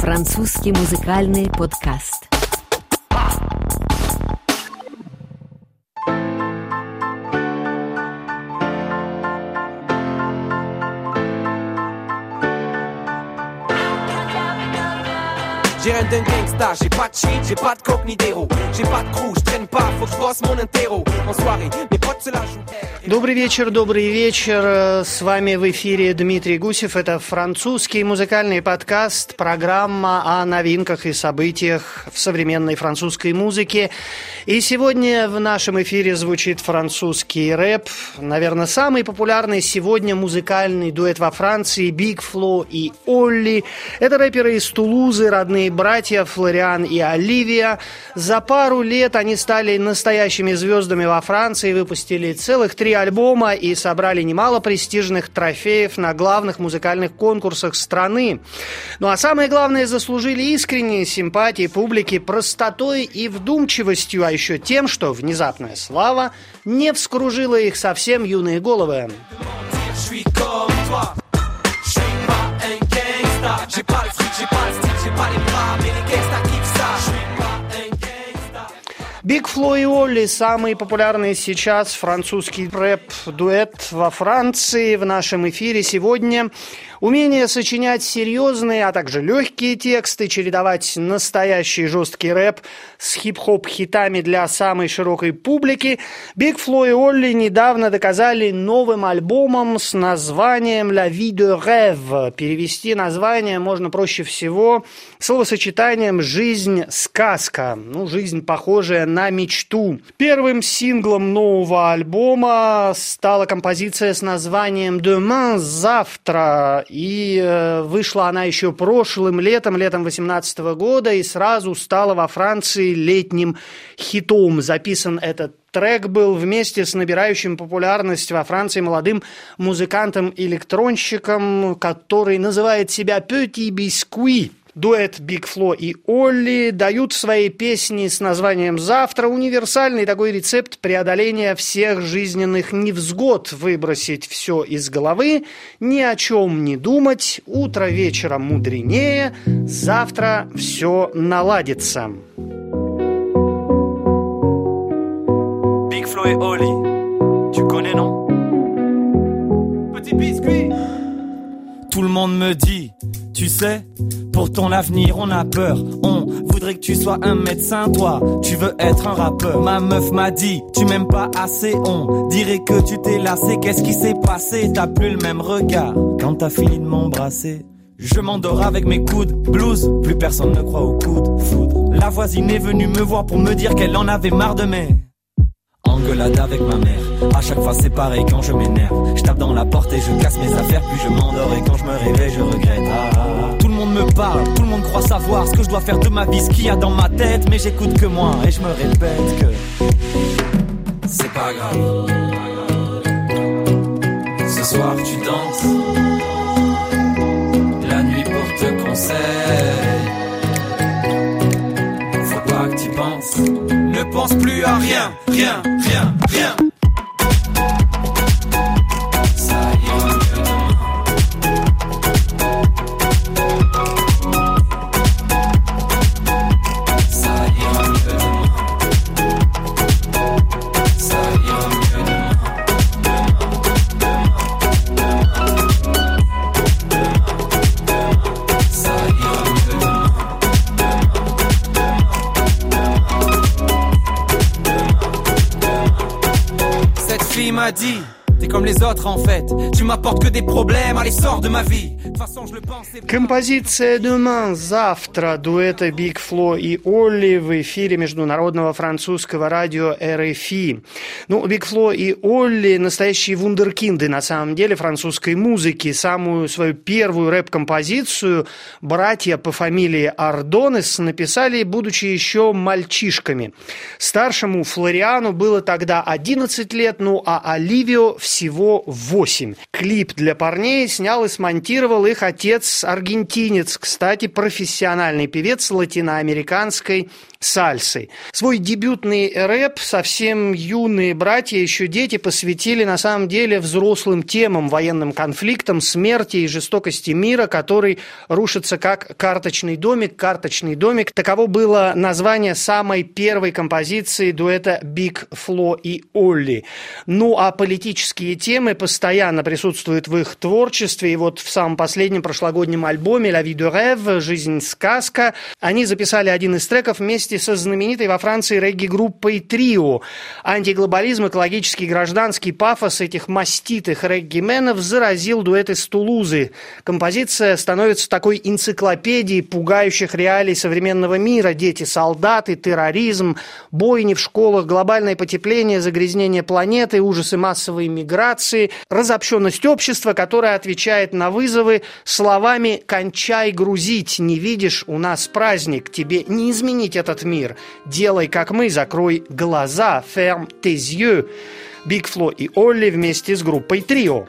Французский музыкальный подкаст. J'ai rien d'un gangsta, j'ai pas de shit, j'ai pas de coke ni d'héros. J'ai pas de crew, j'traîne pas, faut que j'bosse mon interro. En soirée, mes potes se la jouent. Добрый вечер. С вами в эфире Дмитрий Гусев. Это французский музыкальный подкаст, программа о новинках и событиях в современной французской музыке. И сегодня в нашем эфире звучит французский рэп. Наверное, самый популярный сегодня музыкальный дуэт во Франции Big Flo и Олли. Это рэперы из Тулузы, родные братья Флориан и Оливия. За пару лет они стали настоящими звездами во Франции, выпустили целых 3 альбома и собрали немало престижных трофеев на главных музыкальных конкурсах страны. Ну а самое главное, заслужили искренние симпатии публики простотой и вдумчивостью, а еще тем, что внезапная слава не вскружила их совсем юные головы. Big Flo и Олли – самый популярный сейчас французский рэп-дуэт во Франции. В нашем эфире сегодня умение сочинять серьезные, а также легкие тексты, чередовать настоящий жесткий рэп с хип-хоп-хитами для самой широкой публики. Big Flo и Олли недавно доказали новым альбомом с названием «La vie de rêve». Перевести название можно проще всего словосочетанием «жизнь-сказка». Жизнь, похожая на мечту. Первым синглом нового альбома стала композиция с названием «Demain» – «Завтра». И вышла она еще прошлым летом 2018 года, и сразу стала во Франции летним хитом. Записан этот трек был вместе с набирающим популярность во Франции молодым музыкантом-электронщиком, который называет себя Petit Biscuit. Дуэт Big Flo и Олли дают в своей песне с названием «Завтра» универсальный такой рецепт преодоления всех жизненных невзгод. Выбросить все из головы, ни о чем не думать, утро вечером мудренее, завтра все наладится. Big Flo et Olly, tu connais non? Petit biscuit. Tout le monde me dit, tu sais, pour ton avenir on a peur. On voudrait que tu sois un médecin, toi, tu veux être un rappeur. Ma meuf m'a dit, tu m'aimes pas assez, on dirait que tu t'es lassé. Qu'est-ce qui s'est passé? T'as plus le même regard quand t'as fini de m'embrasser. Je m'endors avec mes coudes, blues, plus personne ne croit au coup de foudre. La voisine est venue me voir pour me dire qu'elle en avait marre de mes engueulade avec ma mère. À chaque fois c'est pareil quand je m'énerve. Je tape dans la porte et je casse mes affaires. Puis je m'endors et quand je me réveille je regrette. Tout le monde me parle, tout le monde croit savoir ce que je dois faire de ma vie, ce qu'il y a dans ma tête. Mais j'écoute que moi et je me répète que c'est pas grave. Ce soir tu danses, la nuit porte conseil. Faut pas que tu penses. Ne pense plus à rien, rien, rien, rien. Ça ira mieux demain. Ça ira mieux demain. Ça ira mieux demain. Ça ira mieux demain. Cette fille m'a dit, t'es comme les autres en fait. Tu m'apportes que des problèmes, allez sors de ma vie. De toute façon je le pense. Композиция «Demain» – «Завтра» дуэта Big Flo и Олли в эфире международного французского радио RFI. Big Flo и Олли – настоящие вундеркинды, на самом деле, французской музыки. Самую свою первую рэп-композицию братья по фамилии Ардонес написали, будучи еще мальчишками. Старшему Флориану было тогда 11 лет, а Оливио всего всего 8. Клип для парней снял и смонтировал их отец-аргентинец, кстати, профессиональный певец латиноамериканской сальсы. Свой дебютный рэп совсем юные братья, еще дети, посвятили на самом деле взрослым темам, военным конфликтам, смерти и жестокости мира, который рушится как карточный домик. Карточный домик. Таково было название самой первой композиции дуэта Big Flo и Olly. Ну а политические темы постоянно присутствуют в их творчестве. И вот в самом последнем прошлогоднем альбоме «La vie de rêve» «Жизнь сказка» они записали один из треков вместе со знаменитой во Франции регги-группой «Трио». Антиглобализм, экологический, гражданский пафос этих маститых регги-менов заразил дуэт из Тулузы. Композиция становится такой энциклопедией пугающих реалий современного мира. Дети, солдаты, терроризм, бойни в школах, глобальное потепление, загрязнение планеты, ужасы массовой миграции, разобщенность общества, которое отвечает на вызовы словами «кончай грузить, не видишь, у нас праздник, тебе не изменить этот мир, делай как мы, закрой глаза, ferme tes yeux». Big Flo и Olly вместе с группой «Трио».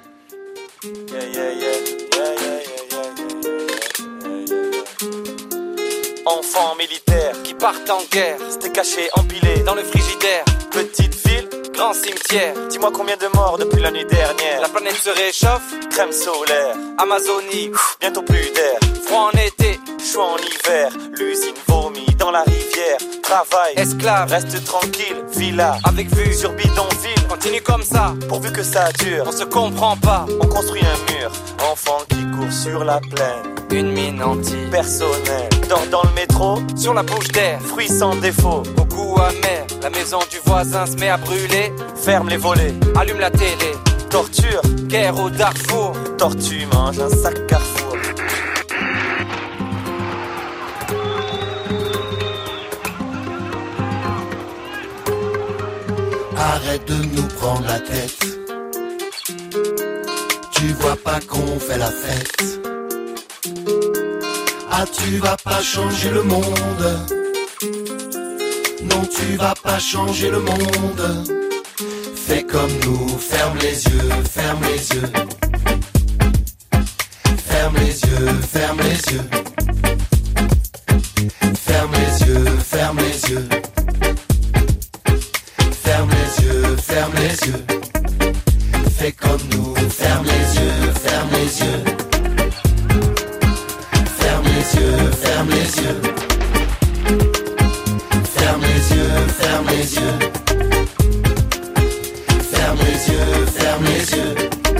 Enfants militaires qui partent en guerre, c'était caché, empilé dans le frigidaire. Petite ville, grand cimetière. Dis-moi combien de morts depuis la nuit dernière. La planète se réchauffe, crème solaire. Amazonie, bientôt plus d'air. Froid en été, chaud en hiver. L'usine vomit dans la rivière. Travail, esclave, reste tranquille. Villa, avec vue sur bidonville. Continue comme ça, pourvu que ça dure. On se comprend pas, on construit un mur. Enfant qui court sur la plaine. Une mine anti-personnelle. Dors dans le métro, sur la bouche d'air. Fruits sans défaut, au goût amer. La maison du voisin se met à brûler. Ferme les volets, allume la télé. Torture, guerre au Darfour. Tortue mange un sac Carrefour. Arrête de nous prendre la tête. Tu vois pas qu'on fait la fête. Ah, tu vas pas changer le monde. Non, tu vas pas changer le monde. Fais comme nous, ferme les yeux, ferme les yeux. Ferme les yeux, ferme les yeux. Ferme les yeux, ferme les yeux. Ferme les yeux, ferme les yeux. Fais comme nous, ferme les yeux, ferme les yeux. Ferme les yeux, ferme les yeux. Ferme les yeux, ferme les yeux. Ferme les yeux, ferme les yeux.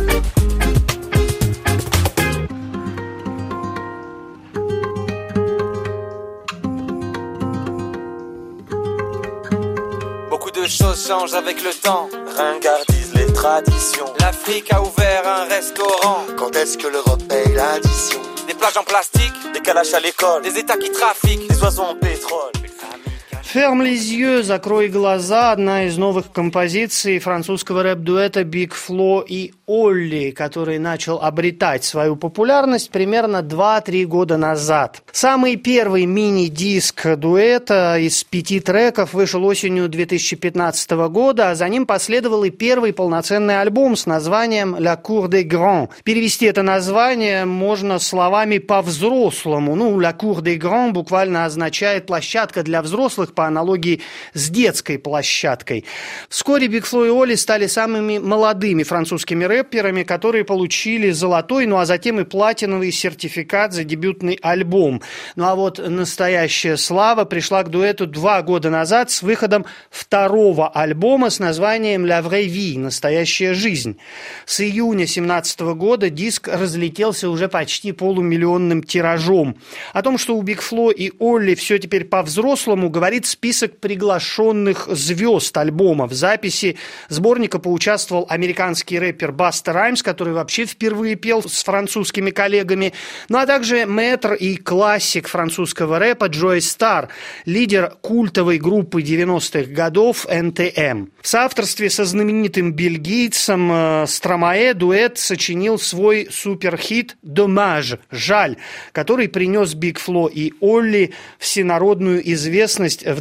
Beaucoup de choses changent avec le temps. Ringardise les traditions. L'Afrique a ouvert un restaurant. Quand est-ce que l'Europe paye l'addition? Des plages en plastique, des calaches à l'école, des États qui trafiquent, des oiseaux en pétrole. «Ferme les yeux, закрой глаза» – одна из новых композиций французского рэп-дуэта Big Flo и Olly, который начал обретать свою популярность примерно 2-3 года назад. Самый первый мини-диск дуэта из 5 треков вышел осенью 2015 года, а за ним последовал и первый полноценный альбом с названием «La Cour des Grands». Перевести это название можно словами «по-взрослому». «La Cour des Grands» буквально означает «площадка для взрослых», по аналогии с детской площадкой. Вскоре Big Flo и Olly стали самыми молодыми французскими рэперами, которые получили золотой, а затем и платиновый сертификат за дебютный альбом. А вот настоящая слава пришла к дуэту 2 года назад с выходом второго альбома с названием «La vraie vie» – «Настоящая жизнь». С июня 2017 года диск разлетелся уже почти полумиллионным тиражом. О том, что у Big Flo и Olly все теперь по-взрослому, говорит список приглашенных звезд альбома. В записи сборника поучаствовал американский рэпер Баста Раймс, который вообще впервые пел с французскими коллегами, а также мэтр и классик французского рэпа Джой Стар, лидер культовой группы 90-х годов NTM. В соавторстве со знаменитым бельгийцем Стромае дуэт сочинил свой суперхит «Dommage» – «Жаль», который принес Big Flo и Olly всенародную известность в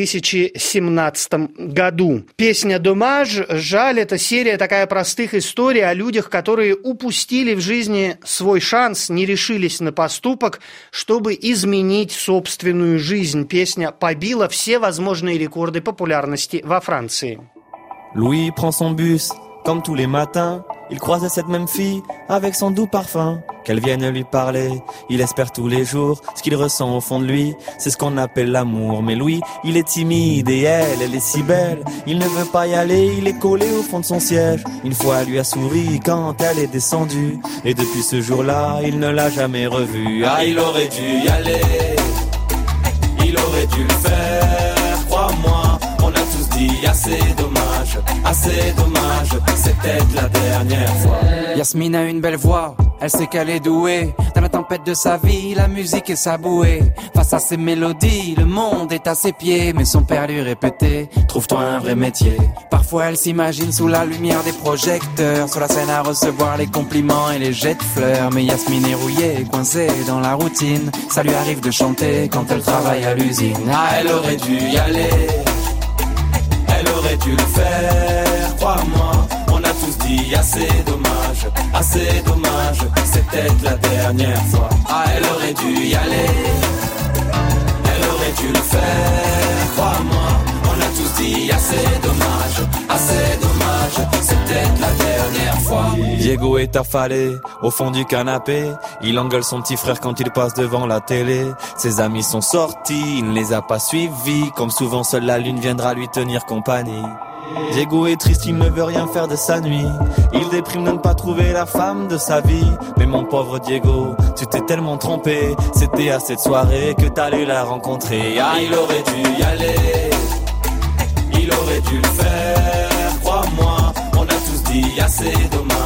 2017 году. Песня «Домаж», жаль, это серия такая простых историй о людях, которые упустили в жизни свой шанс, не решились на поступок, чтобы изменить собственную жизнь. Песня побила все возможные рекорды популярности во Франции. Louis prend son bus, comme tous les matins. Il croise cette même fille avec son doux parfum. Qu'elle vienne lui parler, il espère tous les jours. Ce qu'il ressent au fond de lui, c'est ce qu'on appelle l'amour. Mais Louis, il est timide et elle est si belle. Il ne veut pas y aller, il est collé au fond de son siège. Une fois, elle lui a souri quand elle est descendue. Et depuis ce jour-là, il ne l'a jamais revue. Ah, il aurait dû y aller, il aurait dû le faire, crois-moi. On a tous dit assez dommage, c'était la dernière fois. Yasmine a une belle voix, elle sait qu'elle est douée. Dans la tempête de sa vie, la musique est sa bouée. Face à ses mélodies, le monde est à ses pieds. Mais son père lui répétait, trouve-toi un vrai métier. Parfois elle s'imagine sous la lumière des projecteurs, sur la scène à recevoir les compliments et les jets de fleurs. Mais Yasmine est rouillée, coincée dans la routine. Ça lui arrive de chanter quand elle travaille à l'usine. Ah, elle aurait dû y aller, elle aurait dû le faire, crois-moi. On a tous dit assez dommage, c'était la dernière fois. Ah, elle aurait dû y aller, elle aurait dû le faire, crois-moi. On a tous dit assez dommage, c'était la dernière fois. Diego est affalé au fond du canapé. Il engueule son petit frère quand il passe devant la télé. Ses amis sont sortis, il ne les a pas suivis. Comme souvent, seule la lune viendra lui tenir compagnie. Diego est triste, il ne veut rien faire de sa nuit. Il déprime de ne pas trouver la femme de sa vie. Mais mon pauvre Diego, tu t'es tellement trompé. C'était à cette soirée que t'allais la rencontrer. Ah, il aurait dû y aller, il aurait dû le faire, crois-moi. On a tous dit assez dommage.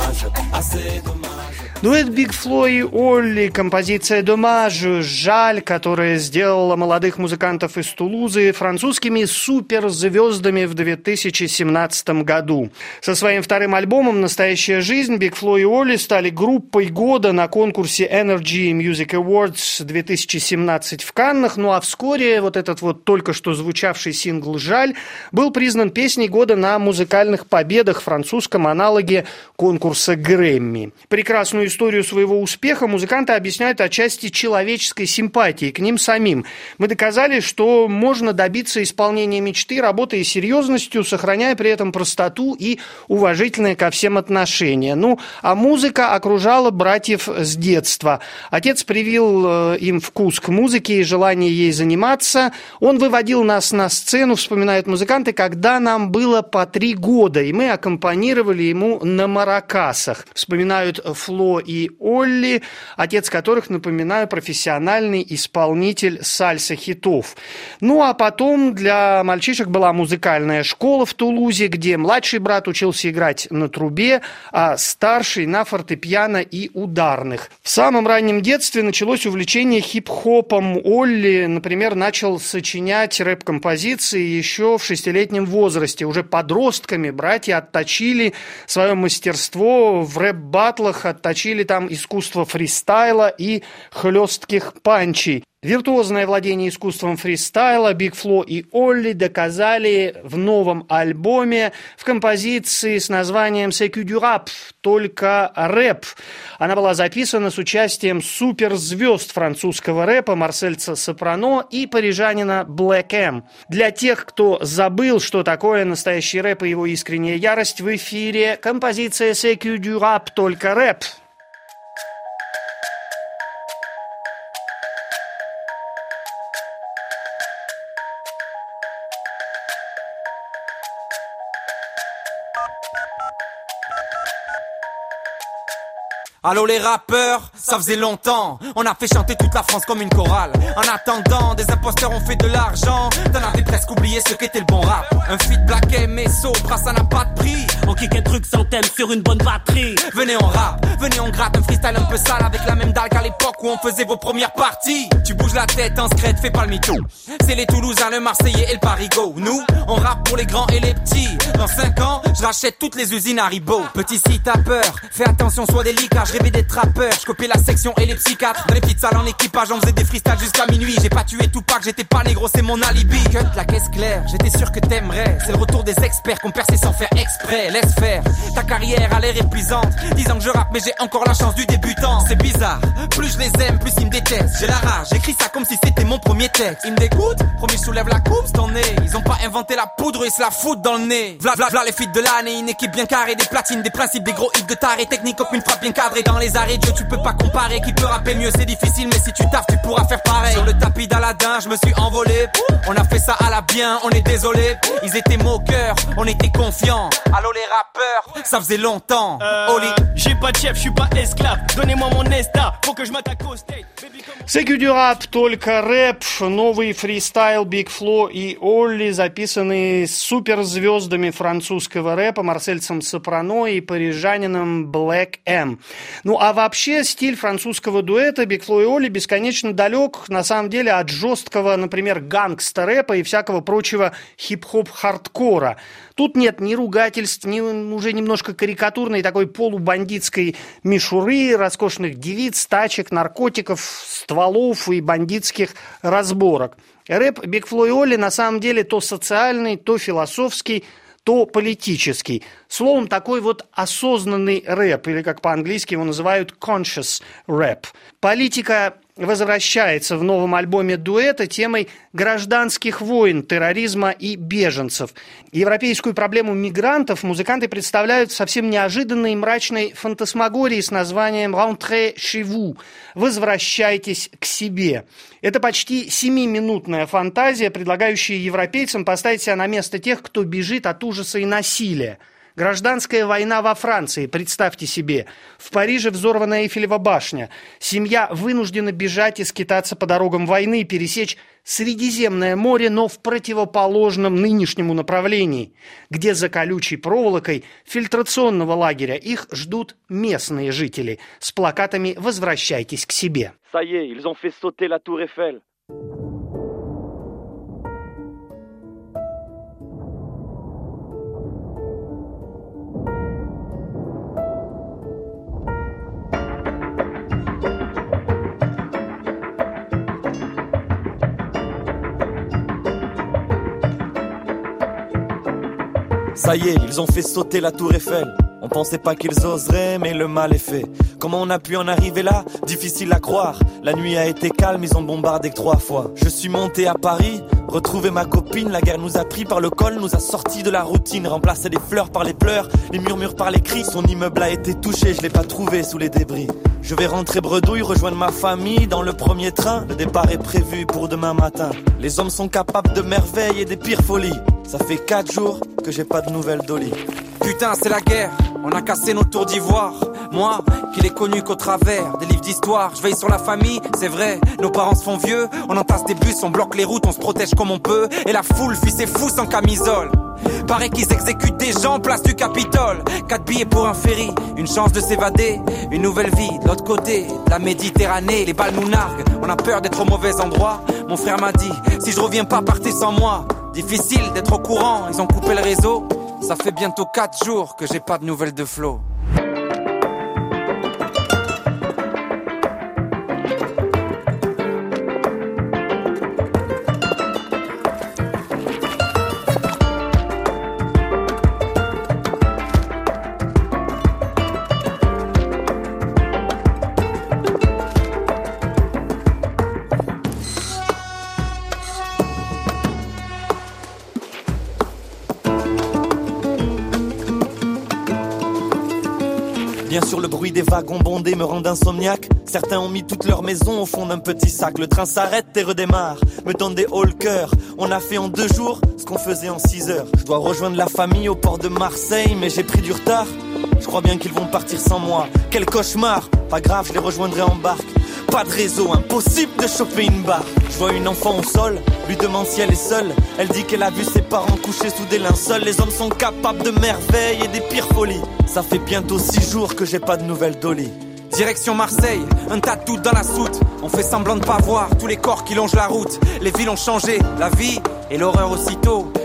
Дуэт Big Flo и Олли, композиция «Домаж», жаль, которая сделала молодых музыкантов из Тулузы французскими суперзвездами в 2017 году. Со своим вторым альбомом «Настоящая жизнь» Big Flo и Олли стали группой года на конкурсе Energy Music Awards 2017 в Каннах. Ну а вскоре вот этот вот только что звучавший сингл «Жаль» был признан песней года на музыкальных победах, французском аналоге конкурса Грэмми. Прекрасную историю своего успеха музыканты объясняют отчасти человеческой симпатией к ним самим. Мы доказали, что можно добиться исполнения мечты, работая серьезностью, сохраняя при этом простоту и уважительное ко всем отношение. Ну, а музыка окружала братьев с детства. Отец привил им вкус к музыке и желание ей заниматься. Он выводил нас на сцену, вспоминают музыканты, когда нам было по 3 года, и мы аккомпанировали ему на маракасах. Вспоминают Фло и Олли, отец которых, напоминаю, профессиональный исполнитель сальса-хитов. Ну а потом для мальчишек была музыкальная школа в Тулузе, где младший брат учился играть на трубе, а старший на фортепиано и ударных. В самом раннем детстве началось увлечение хип-хопом. Олли, например, начал сочинять рэп-композиции еще в 6-летнем возрасте. Уже подростками братья отточили свое мастерство в рэп-баттлах, отточили там искусство фристайла и хлестких панчей. Виртуозное владение искусством фристайла Big Flo и Олли доказали в новом альбоме в композиции с названием «C'est que du rap», только рэп. Она была записана с участием суперзвезд французского рэпа Марсельца Сопрано и парижанина Black M. Для тех, кто забыл, что такое настоящий рэп и его искренняя ярость, в эфире композиция «C'est que du rap», только рэп. Allô les rappeurs, ça faisait longtemps. On a fait chanter toute la France comme une chorale. En attendant, des imposteurs ont fait de l'argent. T'en avais presque oublié ce qu'était le bon rap. Un feat Black M et Sopra, ça n'a pas de prix. On kick un truc sans thème sur une bonne batterie. Venez on rap, venez on gratte un freestyle un peu sale, avec la même dalle qu'à l'époque où on faisait vos premières parties. Tu bouges la tête en scred, fais pas le mytho. C'est les Toulousains, le Marseillais et le Parigo. Nous, on rappe pour les grands et les petits. Dans 5 ans, je rachète toutes les usines Haribo. Petit si t'as peur, fais attention, sois délicat. je rêvais d'être rappeur, je copiais la section et les psychiatres. Dans les petites salles en équipage, on faisait des freestyles jusqu'à minuit. J'ai pas tué Tupac, j'étais pas négro, c'est mon alibi. Cut la caisse claire, j'étais sûr que t'aimerais. C'est le retour des experts qu'on perçait sans faire exprès. Laisse faire, ta carrière a l'air épuisante. 10 ans que je rappe mais j'ai encore la chance du débutant. C'est bizarre, plus je les aime, plus ils me détestent. J'ai la rage, j'écris ça comme si c'était mon premier texte. Ils me dégoûtent, promis je soulève la coupe, c'est ton nez. Ils ont pas inventé la poudre, ils se la foutent dans le nez. V'là les feats de l'année, une équipe bien carrée, des platines, des principes, des gros hits de taré. Technique comme une frappe bien cadrée. Dans les arrêts de jeu tu peux pas comparer. Qui peut rapper mieux, c'est difficile mais si tu taffes tu pourras faire pareil. Sur le tapis d'Aladin je me suis envolé. On a fait ça à la bien, on est désolé. Ils étaient moqueurs, on était confiants. Allô les rappeurs, ça faisait longtemps. Oli, j'ai pas de chef, je suis pas esclave. Donnez-moi mon Nesta, faut que je m'attaque au state. C'est дюрап, только рэп, новый фристайл Big Flo и Олли, записанный суперзвездами французского рэпа Марсельцем Сопрано и парижанином Black M. Ну а вообще стиль французского дуэта Big Flo и Олли бесконечно далек, на самом деле, от жесткого, например, гангста-рэпа и всякого прочего хип-хоп-хардкора. Тут нет ни ругательств, ни уже немножко карикатурной такой полубандитской мишуры, роскошных девиц, тачек, наркотиков, стволов и бандитских разборок. Рэп Big Flo и Олли на самом деле то социальный, то философский, то политический. Словом, такой вот осознанный рэп, или как по-английски его называют conscious rap. Политика возвращается в новом альбоме дуэта темой гражданских войн, терроризма и беженцев. Европейскую проблему мигрантов музыканты представляют в совсем неожиданной и мрачной фантасмагории с названием «Rentrez chez vous» – «Возвращайтесь к себе». Это почти 7-минутная фантазия, предлагающая европейцам поставить себя на место тех, кто бежит от ужаса и насилия. Гражданская война во Франции, представьте себе. В Париже взорвана Эйфелева башня. Семья вынуждена бежать и скитаться по дорогам войны, пересечь Средиземное море, но в противоположном нынешнему направлении, где за колючей проволокой фильтрационного лагеря их ждут местные жители с плакатами «Возвращайтесь к себе». Ça y est, ils ont fait sauter la tour Eiffel. Ça y est, ils ont fait sauter la tour Eiffel. On pensait pas qu'ils oseraient, mais le mal est fait. Comment on a pu en arriver là? Difficile à croire. La nuit a été calme, ils ont bombardé que 3 fois. Je suis monté à Paris, retrouvé ma copine. La guerre nous a pris par le col, nous a sortis de la routine. Remplacé les fleurs par les pleurs, les murmures par les cris. Son immeuble a été touché, je l'ai pas trouvé sous les débris. Je vais rentrer bredouille, rejoindre ma famille dans le premier train. Le départ est prévu pour demain matin. Les hommes sont capables de merveilles et des pires folies. Ça fait 4 jours que j'ai pas de nouvelles d'Oli. Putain, c'est la guerre, on a cassé nos tours d'ivoire. Moi, qui l'ai connu qu'au travers des livres d'histoire. Je veille sur la famille, c'est vrai, nos parents se font vieux. On entasse des bus, on bloque les routes, on se protège comme on peut. Et la foule fuit ses fous sans camisole. Paraît qu'ils exécutent des gens place du Capitole. 4 billets pour un ferry, une chance de s'évader. Une nouvelle vie de l'autre côté de la Méditerranée. Les balles nous narguent, on a peur d'être au mauvais endroit. Mon frère m'a dit, si je reviens pas, partez sans moi. Difficile d'être au courant, ils ont coupé le réseau. Ça fait bientôt 4 jours que j'ai pas de nouvelles de Flo. Bien sûr, le bruit des wagons bondés me rend insomniaque. Certains ont mis toute leur maison au fond d'un petit sac. Le train s'arrête et redémarre, me donne des hauts le cœur. On a fait en 2 jours ce qu'on faisait en 6 heures. Je dois rejoindre la famille au port de Marseille, mais j'ai pris du retard. Je crois bien qu'ils vont partir sans moi. Quel cauchemar, pas grave, je les rejoindrai en barque. Pas de réseau, impossible de choper une barre. Je vois une enfant au sol, lui demande si elle est seule. Elle dit qu'elle a vu ses parents couchés sous des linceuls. Les hommes sont capables de merveilles et des pires folies. Ça fait bientôt 6 jours que j'ai pas de nouvelles d'Oli. Direction Marseille, un tas de doutes dans la soute. On fait semblant de pas voir tous les corps qui longent la route. Les villes ont changé, la vie et l'horreur aussitôt.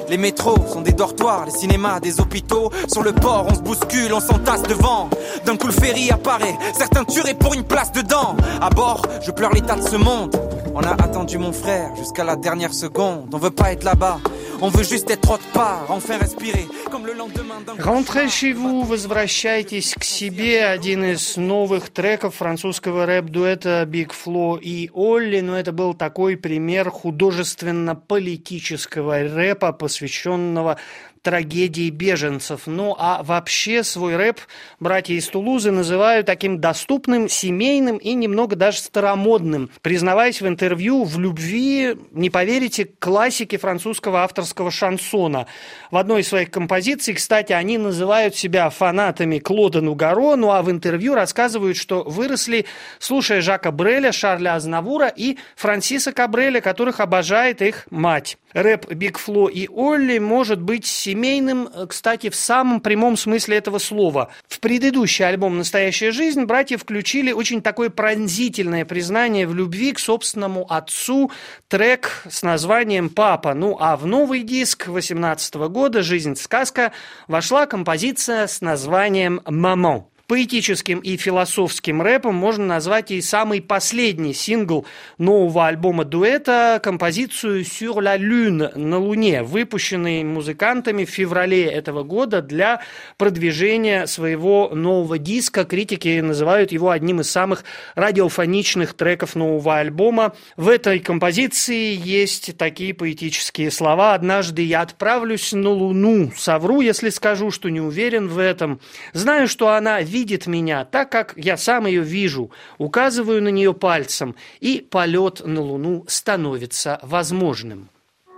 Les métros sont des dortoirs, les cinémas des hôpitaux. Sur le port, on se bouscule, on s'entasse devant. D'un coup le ferry apparaît, certains tueraient pour une place dedans. À bord, je pleure l'état de ce monde. On a attendu mon frère jusqu'à la dernière seconde. On veut pas être là-bas, on veut juste être autre part. Enfin respirer, comme le lendemain d'un... Rentrez chez vous, возвращайтесь к себе. Один из новых треков французского рэп-дуэта Big Flo и Олли. Но это был такой пример художественно-политического рэпа, посвященного трагедии беженцев. Ну, а вообще свой рэп братья из Тулузы называют таким доступным, семейным и немного даже старомодным, признаваясь в интервью в любви, не поверите, к классике французского авторского шансона. В одной из своих композиций, кстати, они называют себя фанатами Клода Нугаро, ну а в интервью рассказывают, что выросли, слушая Жака Бреля, Шарля Азнавура и Франсиса Кабреля, которых обожает их мать. Рэп Big Flo и Олли может быть семейным, кстати, в самом прямом смысле этого слова. В предыдущий альбом «Настоящая жизнь» братья включили очень такое пронзительное признание в любви к собственному отцу, трек с названием «Папа». Ну а в новый диск 2018 года «Жизнь-сказка» вошла композиция с названием «Мамон». Поэтическим и философским рэпом можно назвать и самый последний сингл нового альбома дуэта, композицию «Sur la Lune» на Луне, выпущенный музыкантами в феврале этого года для продвижения своего нового диска. Критики называют его одним из самых радиофоничных треков нового альбома. В этой композиции есть такие поэтические слова: «Однажды я отправлюсь на Луну. Совру, если скажу, что не уверен в этом. Знаю, что она видит меня так, как я сам ее вижу, указываю на нее пальцем, и полет на Луну становится возможным».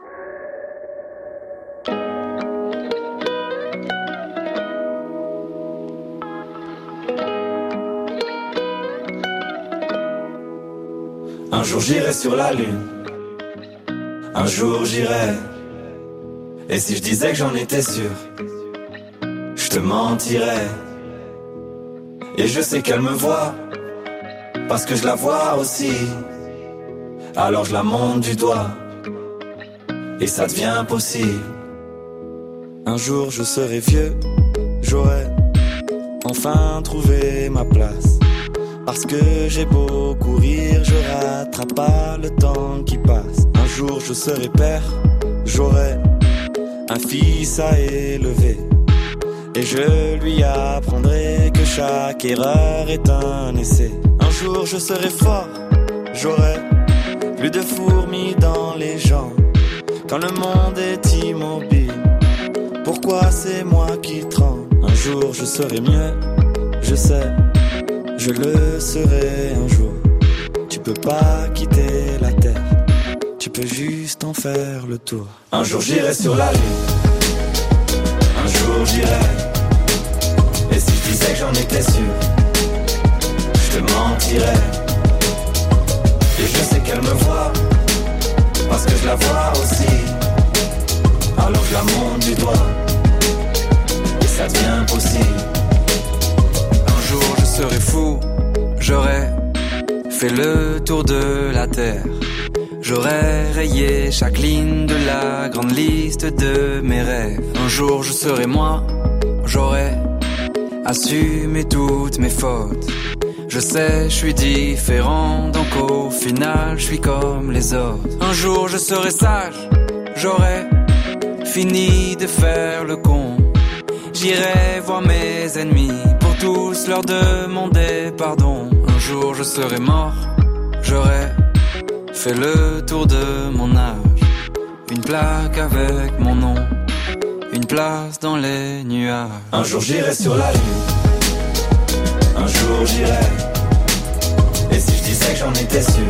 Un jour j'irai sur la lune, un jour j'irai. Et si je disais que j'en étais sûr, je te mentirais. Et je sais qu'elle me voit, parce que je la vois aussi. Alors je la monte du doigt, et ça devient possible. Un jour je serai vieux, j'aurai enfin trouvé ma place. Parce que j'ai beau courir, je rattrape pas le temps qui passe. Un jour je serai père, j'aurai un fils à élever. Et je lui apprendrai que chaque erreur est un essai. Un jour je serai fort, j'aurai plus de fourmis dans les jambes. Quand le monde est immobile, pourquoi c'est moi qui tremble? Un jour je serai mieux, je sais, je le serai un jour. Tu peux pas quitter la terre, tu peux juste en faire le tour. Un jour j'irai sur la lune, un jour j'irai. Et si je disais que j'en étais sûr, je te mentirais. Et je sais qu'elle me voit, parce que je la vois aussi. Alors je la monte du doigt, et ça devient possible. Un jour je serai fou, j'aurai fait le tour de la terre. J'aurais rayé chaque ligne de la grande liste de mes rêves. Un jour je serai moi, j'aurai assumé toutes mes fautes. Je sais, je suis différent, donc au final je suis comme les autres. Un jour je serai sage, j'aurai fini de faire le con. J'irai voir mes ennemis pour tous leur demander pardon. Un jour je serai mort, j'aurai fait le tour de mon âge. Une plaque avec mon nom, une place dans les nuages. Un jour j'irai sur la lune, un jour j'irai. Et si je disais que j'en étais sûr,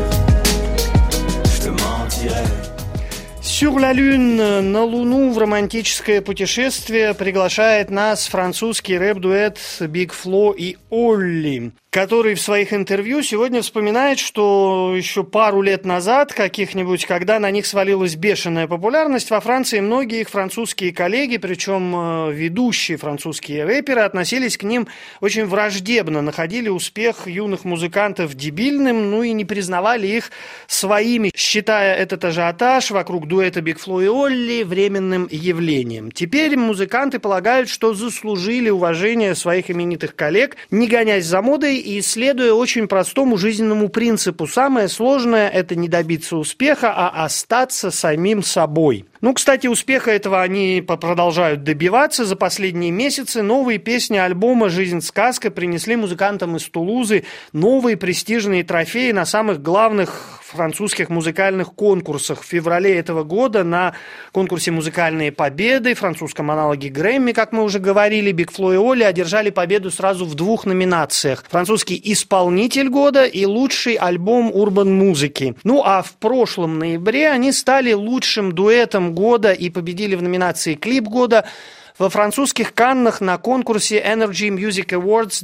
je te mentirais. «Sur la Lune» на Луну в романтическое путешествие приглашает нас французский рэп-дуэт Big Flo и Олли, который в своих интервью сегодня вспоминает, что еще пару лет назад, каких-нибудь, когда на них свалилась бешеная популярность, во Франции многие их французские коллеги, причем ведущие французские рэперы, относились к ним очень враждебно, находили успех юных музыкантов дебильным, ну и не признавали их своими, считая этот ажиотаж вокруг дуэта дуэта Big Flo и Олли временным явлением. Теперь музыканты полагают, что заслужили уважение своих именитых коллег, не гонясь за модой и следуя очень простому жизненному принципу. Самое сложное – это не добиться успеха, а остаться самим собой. Кстати, успеха этого они продолжают добиваться. За последние месяцы новые песни альбома «Жизнь сказка» принесли музыкантам из Тулузы новые престижные трофеи на самых главных французских музыкальных конкурсах. В феврале этого года на конкурсе «Музыкальные победы», французском аналоге Грэмми, как мы уже говорили, Big Flo и Олли одержали победу сразу в 2 номинациях. Французский исполнитель года и лучший альбом урбан-музыки. А в прошлом ноябре они стали лучшим дуэтом года и победили в номинации «Клип года» во французских Каннах на конкурсе Energy Music Awards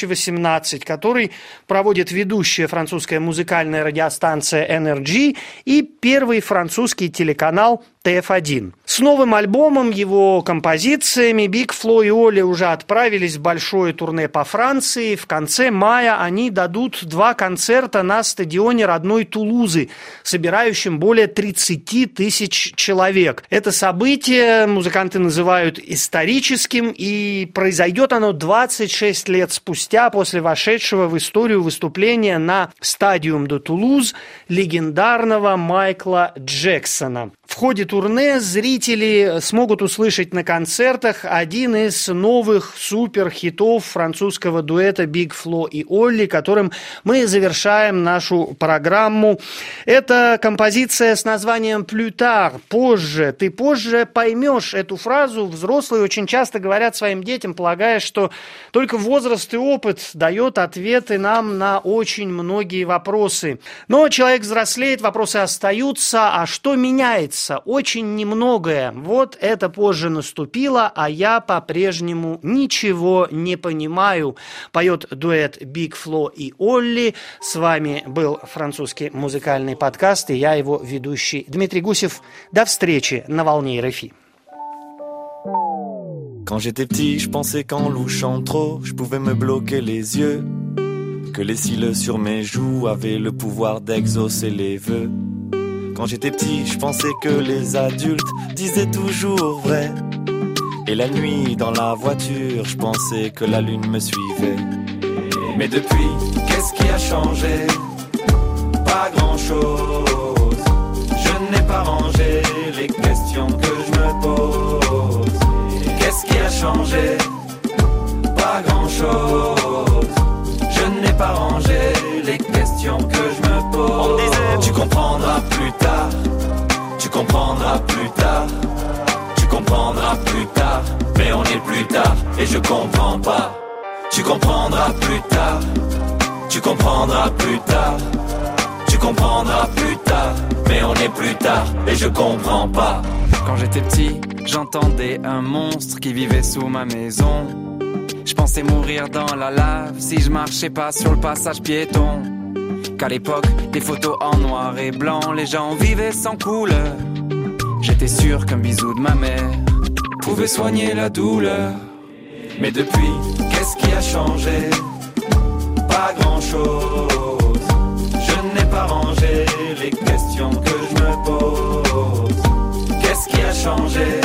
2018, который проводит ведущая французская музыкальная радиостанция Energy и первый французский телеканал TF1. С новым альбомом, его композициями Big Flo и Олли уже отправились в большое турне по Франции. В конце мая они дадут 2 концерта на стадионе родной Тулузы, собирающим более 30 тысяч человек. Это событие музыканты называют историческим, и произойдет оно 26 лет спустя после вошедшего в историю выступления на Stadium de Toulouse легендарного Майкла Джексона. В ходе турне зрители смогут услышать на концертах один из новых суперхитов французского дуэта Big Flo и Олли, которым мы завершаем нашу программу. Это композиция с названием «Plus tard», «Позже». Ты позже поймешь эту фразу. Взрослые очень часто говорят своим детям, полагая, что только возраст и опыт дает ответы нам на очень многие вопросы. Но человек взрослеет, вопросы остаются, а что меняется? Очень немногое. Вот это позже наступило, а я по-прежнему ничего не понимаю. Поет дуэт Big Flo и Олли. С вами был французский музыкальный подкаст, и я его ведущий Дмитрий Гусев. До встречи на волне РФИ. Quand j'étais petit, je pensais qu'en louchant trop, je pouvais me bloquer les yeux. Que les cils sur mes joues avaient le pouvoir d'exaucer les vœux. Quand j'étais petit, je pensais que les adultes disaient toujours vrai. Et la nuit, dans la voiture, je pensais que la lune me suivait. Mais depuis, qu'est-ce qui a changé? Pas grand-chose. Je n'ai pas rangé les questions que je me pose. Qu'est-ce qui a changé? Pas grand-chose. Je n'ai pas rangé les questions que je me pose. On disait, tu comprendras plus tard. Tu comprendras plus tard. Tu comprendras plus tard. Mais on est plus tard et je comprends pas. Tu comprendras plus tard. Tu comprendras plus tard. Tu comprendras plus tard. Mais on est plus tard et je comprends pas. Quand j'étais petit, j'entendais un monstre qui vivait sous ma maison. Je pensais mourir dans la lave si je marchais pas sur le passage piéton. Qu'à l'époque, des photos en noir et blanc, les gens vivaient sans couleur. J'étais sûr qu'un bisou de ma mère pouvait soigner la douleur. Mais depuis, qu'est-ce qui a changé? Pas grand-chose. Je n'ai pas rangé les questions que je me pose. Qu'est-ce qui a changé?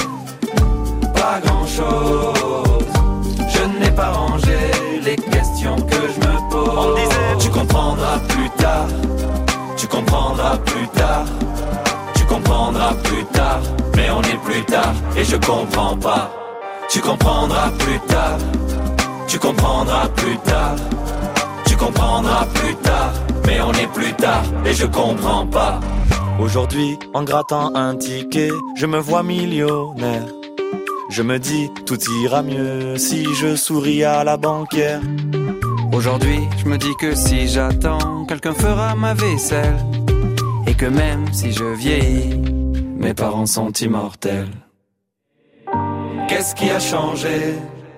Pas grand-chose. Je n'ai pas rangé les questions que je me pose. On disait, tu comprendras plus tard. Tu comprendras plus tard. Tu comprendras plus tard. Mais on est plus tard et je comprends pas. Tu comprendras plus tard. Tu comprendras plus tard. Tu comprendras plus tard. Mais on est plus tard et je comprends pas. Aujourd'hui, en grattant un ticket, je me vois millionnaire. Je me dis, tout ira mieux si je souris à la banquière. Aujourd'hui, je me dis que si j'attends, quelqu'un fera ma vaisselle. Et que même si je vieillis, mes parents sont immortels. Qu'est-ce qui a changé?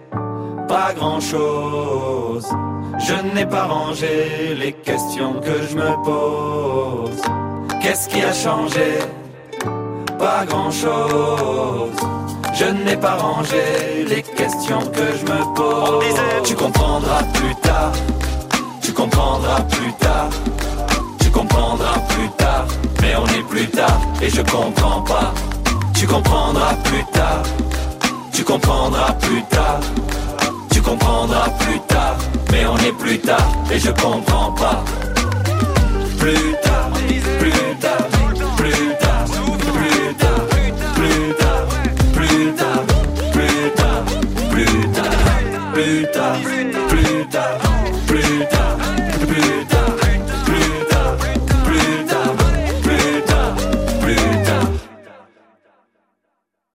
Pas grand-chose. Je n'ai pas rangé les questions que je me pose. Qu'est-ce qui a changé? Pas grand-chose. Je n'ai pas rangé les questions que je me pose. On disait, tu comprendras plus tard. Tu comprendras plus tard. Tu comprendras plus tard. Mais on est plus tard tard et je comprends pas. Tu comprendras plus tard. Tu comprendras plus tard. Tu comprendras plus tard. Mais on est plus tard et je comprends pas. Plus tard, plus tard, plus tard, plus tard, plus tard, plus tard, plus tard, plus tard, plus tard.